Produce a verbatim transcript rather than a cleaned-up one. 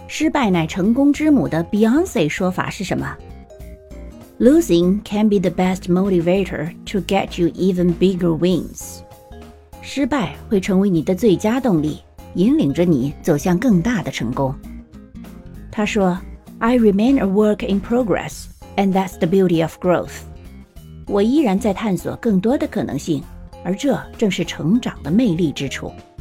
失败乃成功之母的 Beyoncé 说法是什么？ Losing can be the best motivator to get you even bigger wins. 失败会成为你的最佳动力，引领着你走向更大的成功。他说 I remain a work in progress, and that's the beauty of growth. 我依然在探索更多的可能性，而这正是成长的魅力之处。